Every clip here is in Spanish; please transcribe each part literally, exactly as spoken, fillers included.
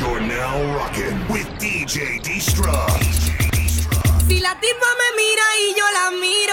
You're now rocking with D J D-Struck. Si la tipa me mira y yo la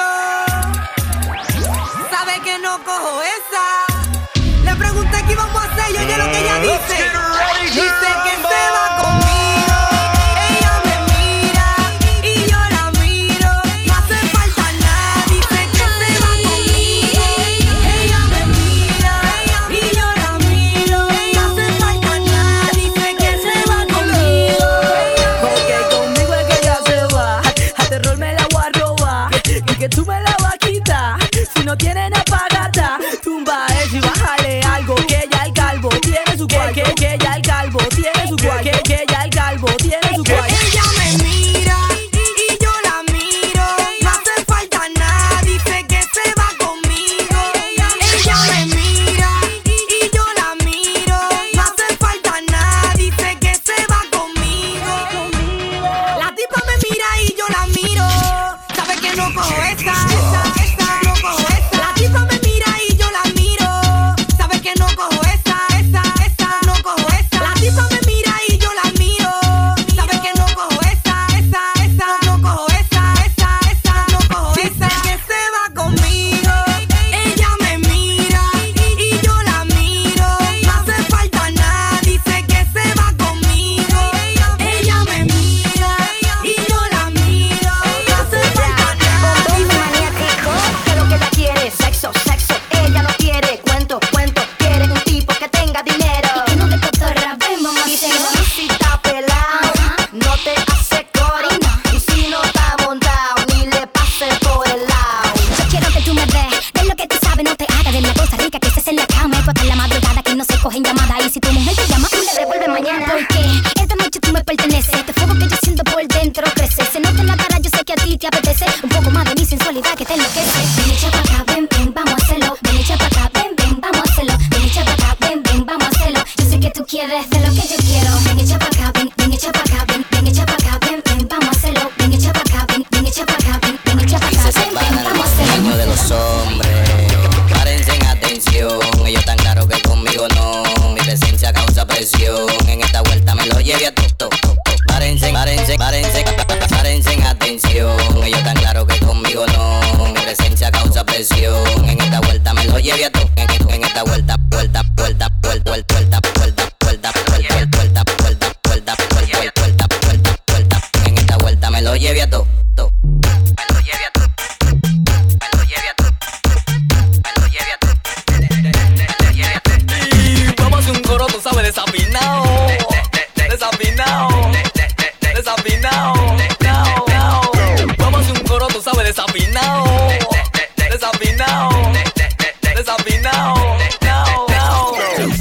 miro, sabe que no cojo esa. Le pregunté qué íbamos a hacer y oye lo que ella dice. Dice que se va conmigo. Ella me mira y yo la miro. No hace falta nada. Dice que se va conmigo. Ella me mira y yo la miro. No hace falta nada. Dice que se va conmigo. Porque conmigo es que ella se va. A terror me la voy a robar y que tú me la vas a quitar. Si no tiene nada para gastar, tumba eso y bájale algo. Que ya el calvo tiene su cuarto. Que, que ya el calvo tiene su cuarto. Que, que ya el calvo tiene su cuarto. Ella me mira y yo la miro. No hace falta nada. Dice que se va conmigo. Ella me mira y yo la miro. No hace falta nada. Dice que se va conmigo. La tipa me mira y yo la miro. Sabe que no cojo esa, esa, esa, no cojo esa. La tipa me mira y yo la miro. Sabe que no cojo esa, esa, esa, no cojo esa. La tipa me mira y yo la miro. Sabe que no cojo esa, esa, esa, no cojo esa, esa, esa, no cojo esa. Dice que se va conmigo. Ella me mira y yo la miro. No hace falta nada. Dice que se va conmigo. Ella me mira y yo la miro. No hace falta nada. Bombo maniático, que lo que ella quiere es sexo, sexo. Ella no quiere cuento, cuento. Quiere un tipo que tenga dinero y que no te cotorra. Ven, mamá, y si está pelado, no te hace coro. Y si no está montado, ni le pase por el lado. Yo quiero que tú me des de lo que tú sabes, no te hagas de la cosa rica que se hace en la cama. Es en la madrugada que no se cogen llamadas. Y si tu mujer te llama, tú le devuelves mañana. Porque esta noche tú me perteneces. Este fuego que yo siento por dentro crece. Se nota en la cara, yo sé que a ti te apetece un poco más de mi sensualidad que te enloquece. Ven, echa pa' acá, ven, ven, vamos a hacerlo. Ven, echa pa' acá, ven, ven, vamos a hacerlo. Ven, echa pa' acá, ven, ven, vamos a hacerlo. Yo sé que tú quieres de lo que yo quiero. Ven, echa pa' acá, ven, ven, echa pa' acá, ven, ven, echa pa' acá, ven, ven, vamos a hacerlo. Ven, echa pa' acá, ven, ven, echa pa' acá, ven, ven, echa pa' acá, ven, ven, vamos a hacerlo. Dueño de los hombres, párense en atención. Ellos tan claro que conmigo no. Mi presencia causa presión. En esta vuelta me lo lleve a toto. Párense, párense, párense, párense en atención. Ellos tan claro que conmigo no. Mi presencia causa presión. En esta vuelta me lo lleve a toto. En esta vuelta, vuelta, vuelta, vuelta, vuelta, vuelta, vuelta, vuelta, vuelta, vuelta, vuelta, vuelta, vuelta, vuelta, vuelta. En esta vuelta me lo lleve a toto. Me lo lleve a toto. Me lo lleve a toto. Me lo lleve a toto. Y vamos a hacer un coro, tú sabes, desafinado. Desafinado. Desafinado. Now, now. Vamos a hacer un coro, tú sabes, desafinado. Desafinado. Desafinado. Now, now.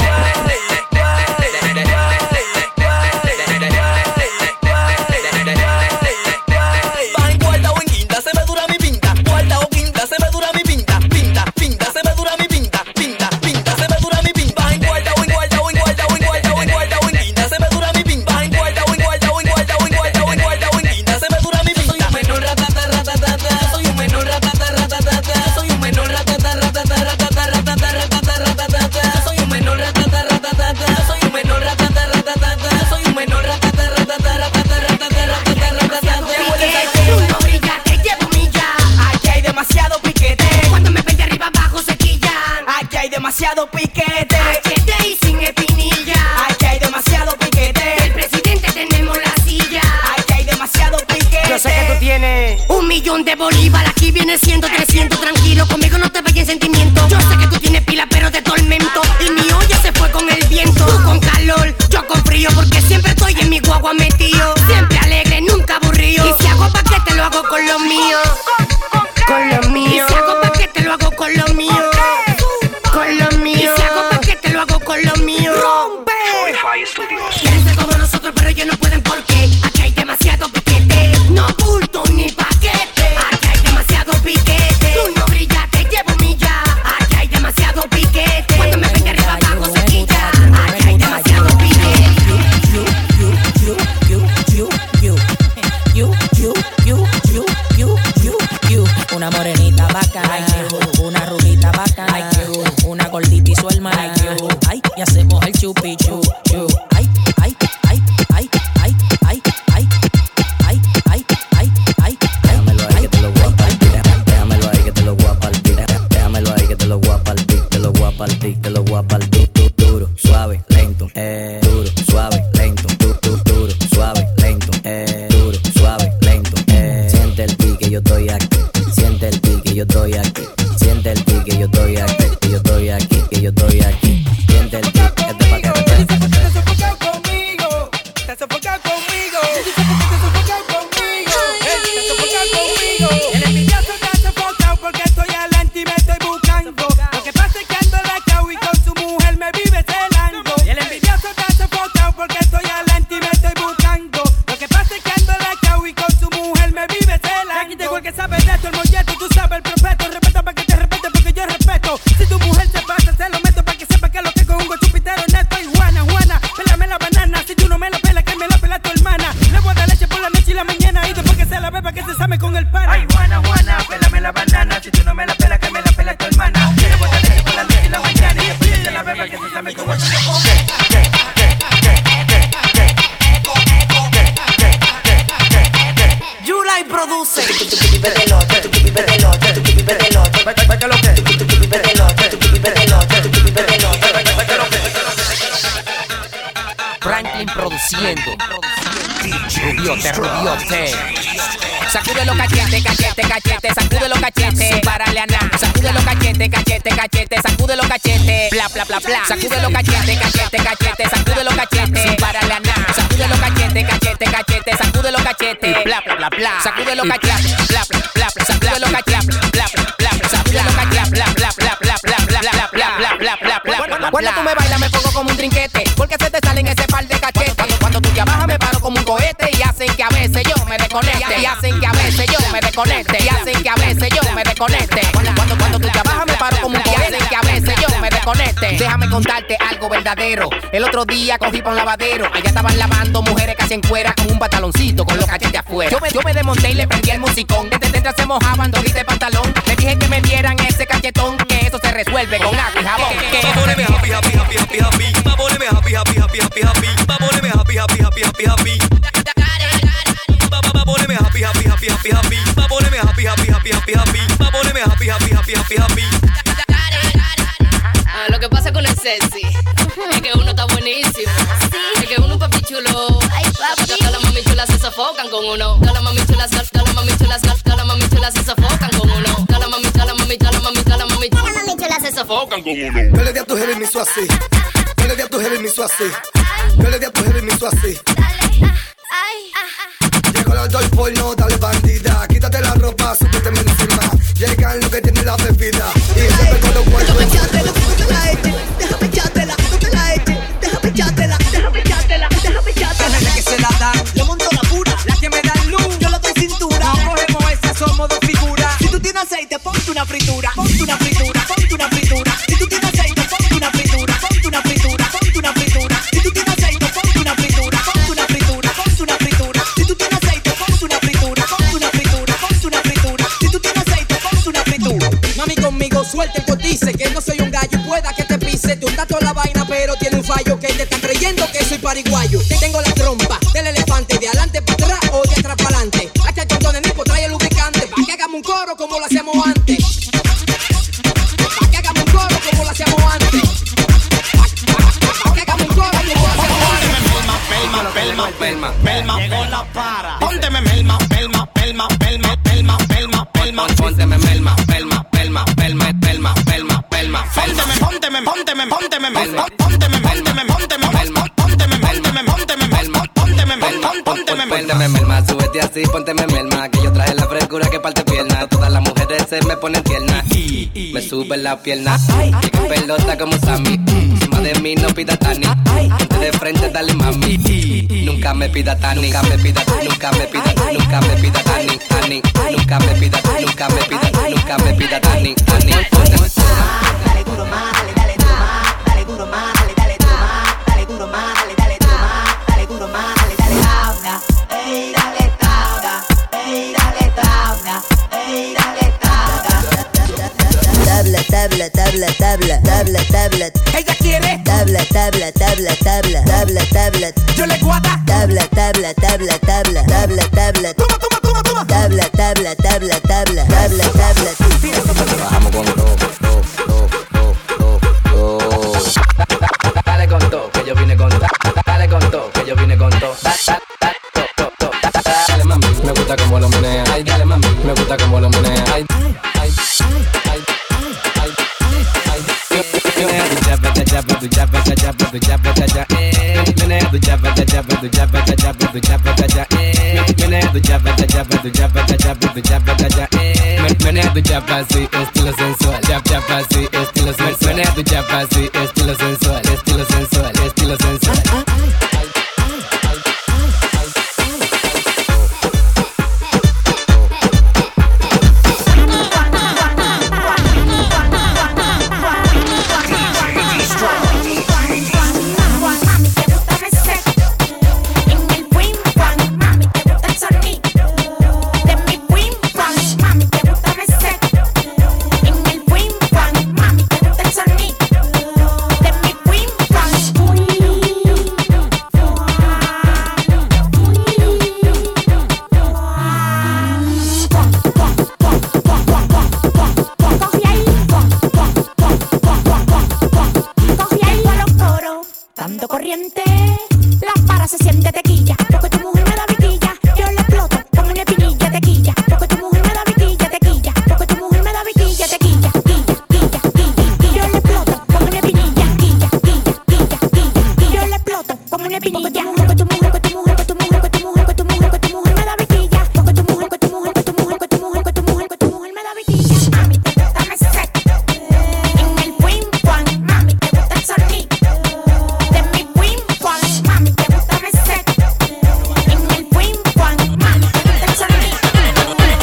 Va en cuarta o en quinta, se me dura mi pinta. Cuarta o quinta, se me dura mi pinta. Pinta, pinta, se me dura mi pinta. Pinta, pinta, se me dura mi pinta. Va en cuarta o en cuarta o en cuarta o en cuarta o en cuarta o en quinta, se me dura mi pinta. Va en cuarta o en cuarta o en cuarta o en cuarta o en cuarta o en quinta, se me dura mi pinta. Soy un menor ratata ratata, soy un menor ratata ratata, soy un menor ratata ratata ratata ratata ratata ratata, soy un menor ratata ratata, soy un menor ratata ratata, soy un menor ratata ratata ratata ratata ratata ratata. Tú no brillas, te llevo milla. Aquí hay demasiado piquete. Cuando me ven de arriba abajo se quillan. Aquí hay demasiado piquete. Machete y sin espinilla. Aquí hay demasiado piquete. Del presidente tenemos la silla. Aquí hay demasiado piquete. Yo sé que tú tienes un millón de bolívar. Aquí viene siendo trescientos. Tranquilo, conmigo no te vayas en sentimiento. Yo sé que tú tienes pila pero de tormento. Y mi olla se fue con el viento. Tú con calor, yo con frío. Porque siempre estoy en mi guagua metido. Siempre alegre, nunca aburrido. Y si hago paquete lo hago con lo mío. con lo mío. Y si hago paquete lo hago con lo mío. Con lo mío. Y si hago paquete lo hago con lo mío. ¡Rompe! Quieren ser como nosotros pero ellos no pueden porque aquí hay demasiado piquete. No bulto ni paquete. Aquí hay demasiado piquete. Tú no brillas, te llevo milla. Aquí hay demasiado piquete. Cuando me ven de arriba abajo se quilla. Aquí hay demasiado piquete. You, you, you, you, you, you, you, you, you, you, you, you, you. Una morenita bacana, una rubita bacana, una gordita y su hermana. Ay, y hacemos el chupi chu, chu. Ay, ay, ay, Franklin produciendo. Rubiote, Rubiote. Sacude los cachetes, cachete, cachete, sacude los cachetes, sin pararle a nada. Sacude los cachetes, cachete, cachete, sacude los cachetes, bla, bla, bla, bla. Sacude los cachetes, cachete, cachete, sacude los cachetes, sin pararle a nada. Sacude los cachetes, cachete, cachete, sacude los cachetes, bla, bla, bla, bla. Sacude los cachetes, bla, bla, bla, bla. Sacude los cachetes, bla, bla, bla, bla. Sacude los cachetes, bla, bla, bla, bla, bla, bla, bla, bla, bla, bla, bla, bla, bla. Cuando tú me bailas me pongo como un trinquete, porque se te salen ese par de cachetes. Cuando, cuando tú te abajas me paro como un cohete y hacen que a veces yo me desconecte, y hacen que a veces yo me desconecte, y hacen que a veces yo me desconecte. Cuando, cuando, cuando tú te abajas me paro como un cohete y hacen que a veces yo me desconecte. Déjame contarte algo verdadero. El otro día cogí pa' un lavadero, allá estaban lavando mujeres casi en cuera con un pantaloncito con los cachetes afuera. Yo me, yo me desmonté y le prendí el musicón. Desde dentro se mojaban todita el pantalón. Le dije que me dieran ese cachetón, que eso se resuelve con agua y jabón. Poneme happy, happy, happy, happy, happy. Poneme happy, happy, happy, happy, happy. Poneme happy, happy, happy, happy, happy. Poneme happy, happy, happy, happy, happy. Poneme happy, happy, happy, happy, happy. Poneme happy, happy, happy, happy, happy. Ah, lo que pasa con el sexy es que uno está buenísimo. Es que uno es papi chulo. Ay, papi. Todas las mami chulas se sofocan con uno. Todas las mami chulas, todas las mami chulas, todas las mami chulas se sofocan con uno. Todas las mami, todas las mami, todas las mami, todas las mami, todas las mami chulas se sofocan con uno. Yo le di a tu jefe y me hizo así. Yo le di a tu jefe y me hizo así. Yo le di a tu jefe y me hizo así. Llegó la doy porno, dale bandida. Quítate la ropa, súbete encima. Llegan lo que tiene la bebida. Y siempre con los cuerpos. Déjame echártela, no te la eches. Déjame echártela, no te la eches. Déjame echártela, déjame echártela, déjame echártela. La que se la dan, yo monto la pura. la que me dan luz, Yo la doy cintura. no cogemos esa, somos dos figuras. Si tú tienes aceite, ponte una fritura. Ponte una fritura, ponte una fritura. Si tú tienes aceite, ponte una fritura. Ponte una fritura, ponte una fritura. Si tú tienes aceite, ponte una fritura. Ponte una fritura, ponte una fritura. Si tú tienes aceite, ponte una fritura. Ponte una fritura, ponte una fritura. Si tú tienes aceite, ponte una fritura. Mami conmigo suelta el cotice, que no soy un gallo y pueda que te pise. Te unta toda la vaina pero tiene un fallo, que te están creyendo que soy pariguayo. Tengo la trompa del elefante, de adelante para atrás o de atrás para adelante. Hacha el condón de Nico, trae el lubricante, pa' que hagamos un coro como lo hacíamos antes. Pa' que hagamos un coro como lo hacíamos antes. Pa' que hagamos un coro como lo hacíamos antes. Pelma, pelma, pelma, pelma, pelma, para. Pónteme melma, pelma, pelma, pelma, pelma, pelma, pelma. Pónteme melma, pelma, pelma, pelma, pelma, pelma, pelma. Pónteme, pónteme, pónteme, pónteme melma. Pónteme, pónteme, pónteme melma. Pónteme, pónteme, pónteme melma. Pónteme, pónteme, pónteme melma. Pónteme melma, súbete así, pónteme melma. Que yo traje la frescura que parte pierna. Todas las mujeres se me ponen tiernas. Me suben las piernas. Llega en pelota como Sammy. Encima de mí no pida Tani. Ponte de frente, dale mami. Nunca me pida Tani. Nunca me pida, nunca me pida, nunca me pida Tani. Tani. Nunca me pida, nunca me pida, nunca me pida Tani. Tani. Dale duro más, dale, dale duro más. Dale duro más, dale, dale duro más. Dale duro más, dale, dale duro más. Dale duro más, dale, dale tabla. Ey, dale tabla. Ey, dale tabla. Ey, dale tabla. Tabla, tabla, tabla, tabla, tabla, tabla. Ella quiere Tabla, tabla, tabla, tabla, tabla, tabla. yo le guarda. Tabla, tabla, tabla, tabla, tabla, tabla. Toma, toma, toma, toma. Tabla, tabla, tabla, tabla, tabla, tabla. Trabajamos con do, do, do, do, do, do. Dale con todo, que yo vine con todo. Dale con todo, que yo vine con todo. Da, da, da, do, do, do. Da, da. Dale mami, me gusta como lo menea. Ay, dale mami, me gusta como lo menea. Ay, ay, ay, ay, ay, ay. Menea tu chapa, cha chapa, tu chapa, cha chapa, tu chapa, cha cha. Menea tu chapa, cha chapa, tu chapa, cha chapa, tu chapa, cha cha. Menea tu chapa, cha chapa, tu chapa, cha chapa, tu chapa, cha cha. Menea tu chapa así, estilo sensual. Chap chapa así, estilo sensual. Menea tu chapa así, estilo sensual, estilo sensual, estilo sensual. Mami, te gusta el sonido de mi pim pam. La para se siente tequilla, porque tu mujer me da vitilla. Yo le exploto como una espinilla, tequilla, porque tu mujer me da vitilla, tequilla, porque tu mujer me da vitilla, tequilla, quilla, quilla, quilla. Yo le exploto como una espinilla, quilla, quilla, quilla, quilla. Yo le exploto como una espinilla, porque tu mujer, porque tu mujer, porque tu mujer, porque tu mujer, porque tu mujer, porque tu mujer me da vitilla, porque tu mujer, porque tu mujer, porque tu mujer, porque tu mujer, porque tu mujer, porque tu mujer me da vitilla. Mami, te gusta me seca en el wing one, mami, te gusta el sonido de mi wing one, mami, te gusta me seca en el wing one, mami, te gusta el sonido de mi wing one.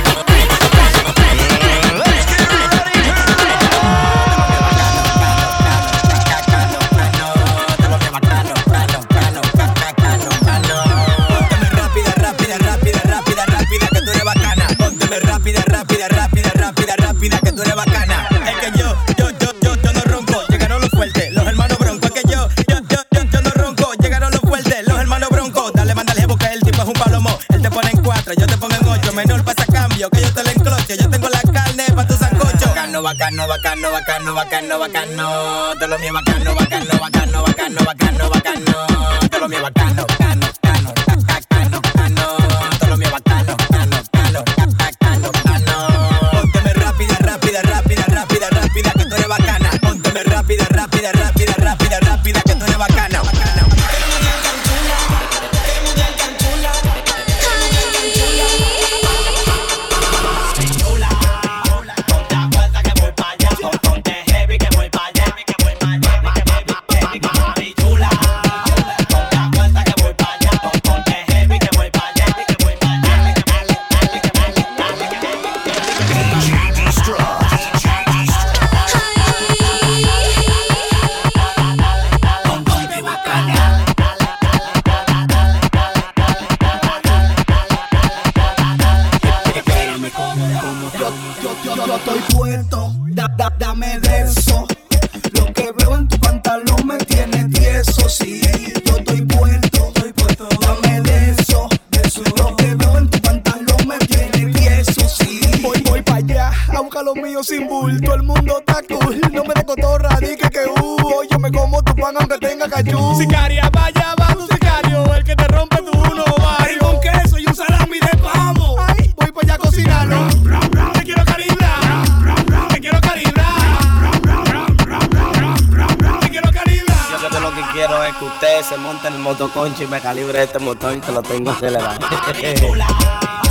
Rápida, rápida, rápida, rápida, rápida, que tú eres bacana. Es que yo, yo, yo, yo, yo no ronco, llegaron los fuertes, los hermanos broncos. Es que yo, yo, yo, yo, yo no ronco, llegaron los fuertes, los hermanos broncos. Dale, mándale, porque el tipo es un palomo. Él te pone en cuatro, yo te pongo en ocho. Menor pasa cambio, que yo te lo encloche. Yo tengo la carne pa' tu sancocho. Bacano, bacano, bacano, bacano, bacano, bacano. Todo lo mío bacano, bacano, bacano, bacano, bacano, bacano. Todo lo mío bacano, bacano, bacano, bacano, bacano. Todo lo mío bacano, bacano, bacano, bacano, bacano. Pónteme rápida, rápida, rápida, rápida, rápida, que tú eres bacana. Pónteme rápida, rápida, rápida, rápida, rápida, que tú eres bacana, bacana. Yo estoy puesto, da, da, dame de eso. Lo que veo en tu pantalón me tiene tieso. Sí, yo estoy puesto, estoy puesto, dame de eso, de eso. Lo que veo en tu pantalón me tiene tieso. Sí, voy, voy para allá a buscar lo mío sin bulto. El mundo está cool, no me de cotorra, dije que uh. Yo me como tu pan aunque tenga cachú. Sicaria, vaya, va tu sicario, el que te rompe tu uno ovario. Con queso y un salami de pavo. Ay, voy para allá a cocinarlo. Te quiero calibrar, te quiero calibrar, te quiero calibrar. Yo que lo que quiero es que usted se monte en el motoconcho y me calibre este motor y te lo tengo acelerado.